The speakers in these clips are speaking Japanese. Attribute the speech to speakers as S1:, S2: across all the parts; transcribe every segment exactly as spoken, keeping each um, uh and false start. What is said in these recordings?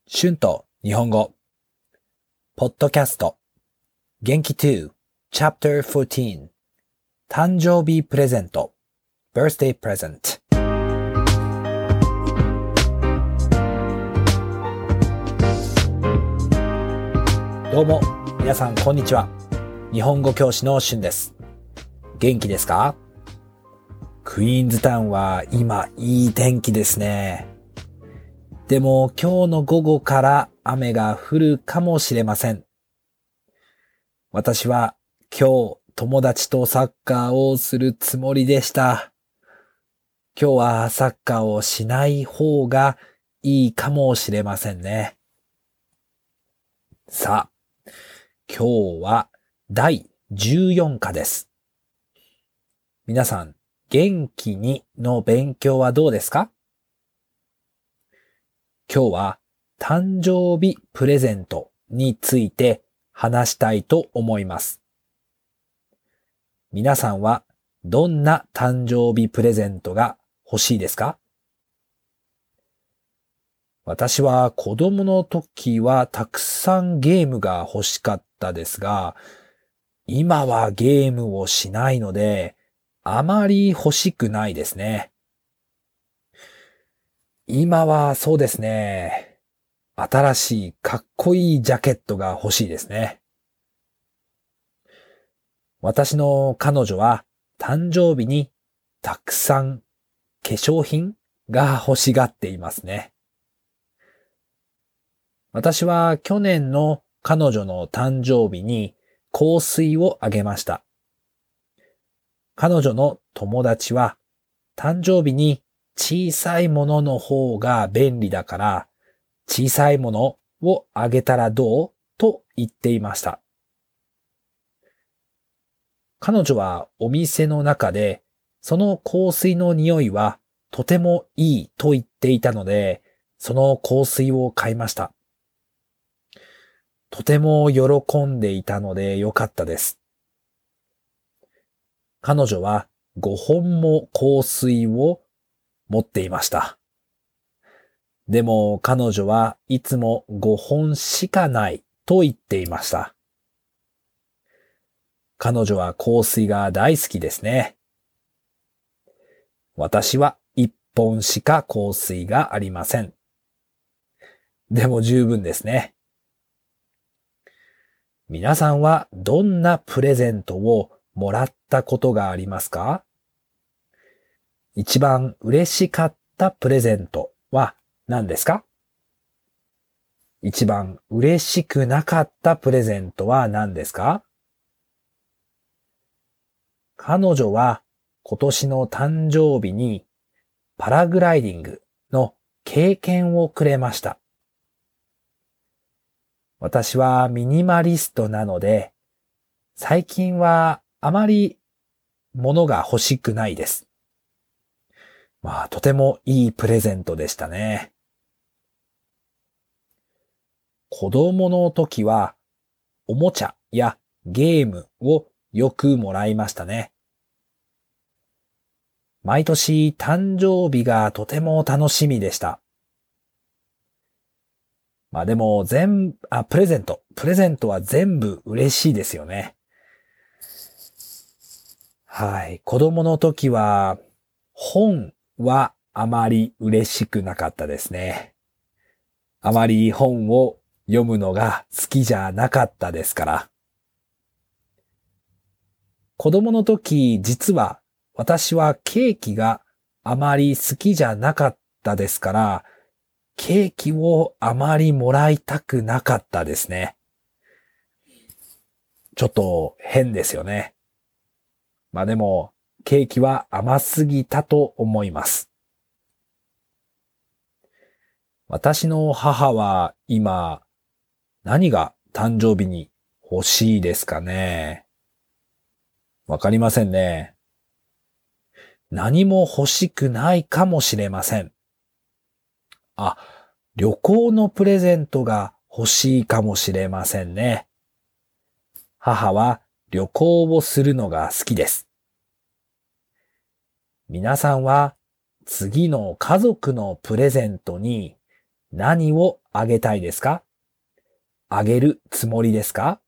S1: シュンと日本語ポッドキャスト元気に チャプターじゅうよん 誕生日プレゼント Birthday Present。 どうも皆さんこんにちは。日本語教師のシュンです。元気ですか？クイーンズタウンは今いい天気ですね。でも今日の午後から雨が降るかもしれません。私は今日友達とサッカーをするつもりでした。今日はサッカーをしない方がいいかもしれませんね。さあ、今日はだいじゅうよんかです。皆さん、元気にの勉強はどうですか？今日は誕生日プレゼントについて話したいと思います。皆さんはどんな誕生日プレゼントが欲しいですか？私は子供の時はたくさんゲームが欲しかったですが、今はゲームをしないのであまり欲しくないですね。今はそうですね。新しいかっこいいジャケットが欲しいですね。私の彼女は誕生日にたくさん化粧品が欲しがっていますね。私は去年の彼女の誕生日に香水をあげました。彼女の友達は誕生日に小さいものの方が便利だから小さいものをあげたらどうと言っていました。彼女はお店の中でその香水の匂いはとてもいいと言っていたので、その香水を買いました。とても喜んでいたのでよかったです。彼女はごほんも香水を持っていました。でも彼女はいつもごほんしかないと言っていました。彼女は香水が大好きですね。私はいっぽんしか香水がありません。でも十分ですね。皆さんはどんなプレゼントをもらったことがありますか？一番嬉しかったプレゼントは何ですか？一番嬉しくなかったプレゼントは何ですか？彼女は今年の誕生日にパラグライディングの経験をくれました。私はミニマリストなので、最近はあまり物が欲しくないです。まあ、とてもいいプレゼントでしたね。子供の時は、おもちゃやゲームをよくもらいましたね。毎年誕生日がとても楽しみでした。まあでも全、あ、プレゼント。プレゼントは全部嬉しいですよね。はい。子供の時は、本はあまり嬉しくなかったですね。あまり本を読むのが好きじゃなかったですから。子供の時、実は私はケーキがあまり好きじゃなかったですから、ケーキをあまりもらいたくなかったですね。ちょっと変ですよね。まあでも、ケーキは甘すぎたと思います。私の母は今、何が誕生日に欲しいですかね。わかりませんね。何も欲しくないかもしれません。あ、旅行のプレゼントが欲しいかもしれませんね。母は旅行をするのが好きです。皆さんは次の家族のプレゼントに何をあげたいですか？あげるつもりですか？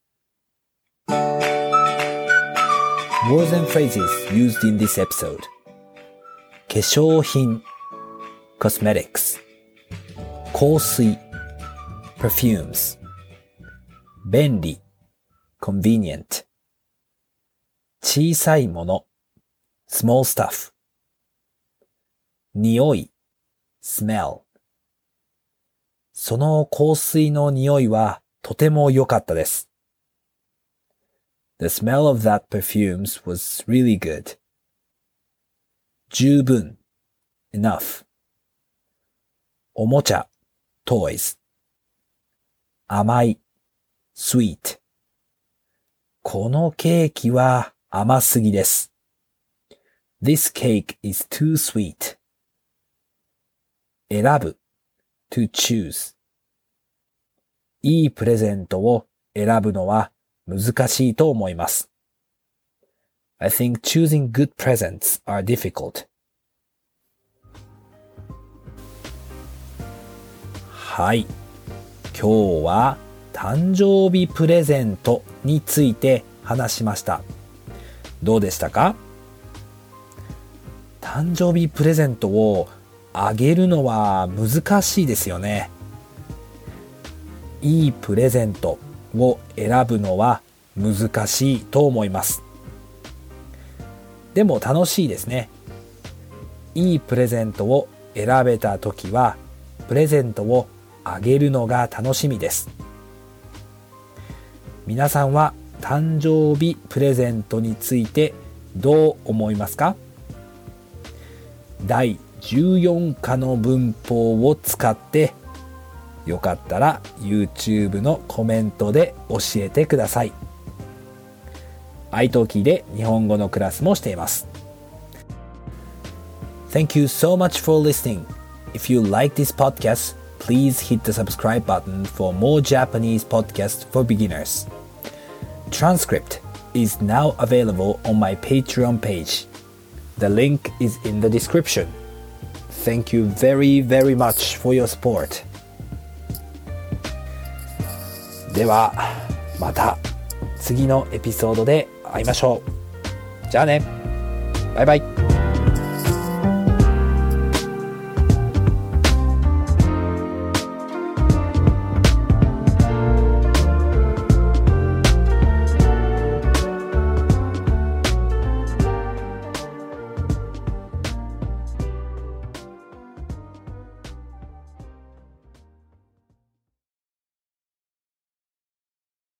S1: Words and phrases used in this episode. 化粧品 cosmetics 香水 perfumes 便利 convenient 小さいもの small stuff 匂い smell その香水の匂いはとても良かったです。The smell of that perfumes was really good. 十分 enough おもちゃ toys 甘い sweet このケーキは甘すぎです。This cake is too sweet. 選ぶ to choose いいプレゼントを選ぶのは難しいと思います。I think choosing good presents are difficult. はい。今日は誕生日プレゼントについて話しました。どうでしたか？誕生日プレゼントをあげるのは難しいですよね。いいプレゼントを選ぶのは難しいと思います。でも楽しいですね。いいプレゼントを選べたときは、プレゼントをあげるのが楽しみです。皆さんは誕生日プレゼントについてどう思いますか？だいじゅうよんかの文法を使ってよかったら YouTube のコメントで教えてください。iTalki で日本語のクラスもしています。Thank you so much for listening. If you like this podcast, please hit the subscribe button for more Japanese podcasts for beginners. Transcript is now available on my Patreon page. The link is in the description. Thank you very, very much for your support. では、また次のエピソードで会いましょう。じゃあね。バイバイ。